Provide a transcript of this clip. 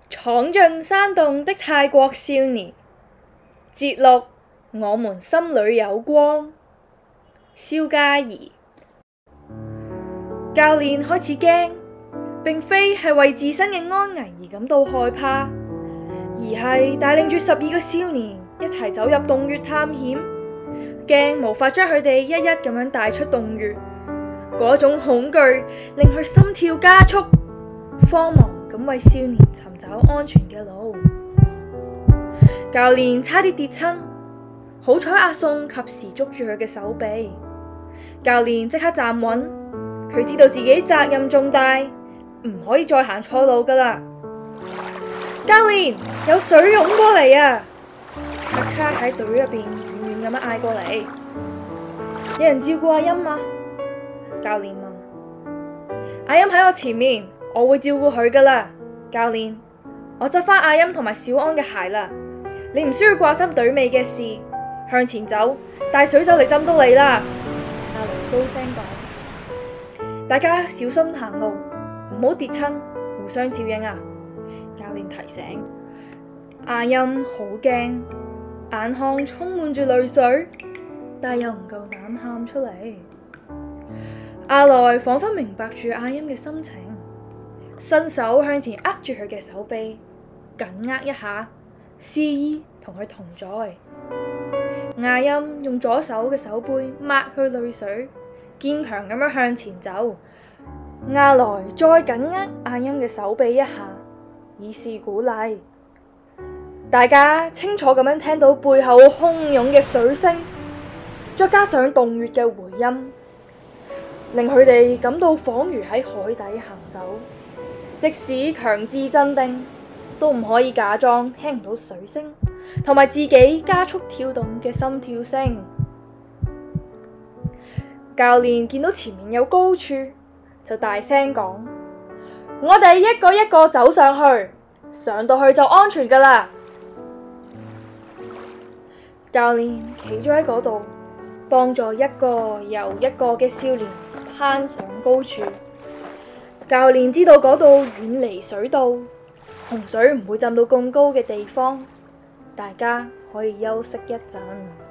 闖進山洞的泰國少年，節錄我們心裏有光。蕭嘉怡。教練開始驚，並非係為自身嘅安危而感到害怕，而係帶領住12個少年一齊走入洞穴探險，驚無法將佢哋一一咁樣帶出洞穴。嗰種恐懼令佢心跳加速，慌忙咁為少年尋找安全嘅路。教練差啲跌親，好彩阿宋及時捉住佢嘅手臂。教練即刻站穩，佢知道自己責任重大，唔可以再行錯路噶啦。教練，有水湧過嚟啊！叉叉喺隊入邊遠遠咁樣嗌過嚟。有人照顧阿音嗎？教練問。阿音喺我前面，我會照顧佢噶啦。教練，我執返阿音同埋小安嘅鞋啦，你唔需要掛心隊尾嘅事，向前走，帶水就嚟浸到你啦。阿雷高聲講，大家小心行路，唔好跌親，互相照應啊。教練提醒。阿音好驚，眼眶充滿住淚水，但又唔夠膽喊出嚟。阿來仿佛明白住阿音嘅心情，伸手向前握住佢嘅手臂，緊握一下，示意同佢同在。阿音用左手嘅手背抹去淚水，堅強咁樣向前走。阿來再緊握阿音嘅手臂一下，以示鼓勵。大家清楚咁樣聽到背後洶湧嘅水聲，再加上洞穴嘅回音，令佢哋感到仿如喺海底行走，即使強自鎮定，都唔可以假裝聽唔到水聲同埋自己加速跳動嘅心跳聲。教練見到前面有高處，就大聲講：我哋一個一個走上去，上到去就安全噶啦。教練企咗喺嗰度，幫助一個又一個嘅少年攀上高處。教練知道嗰度遠離水道，洪水唔會浸到咁高嘅地方，大家可以休息一陣。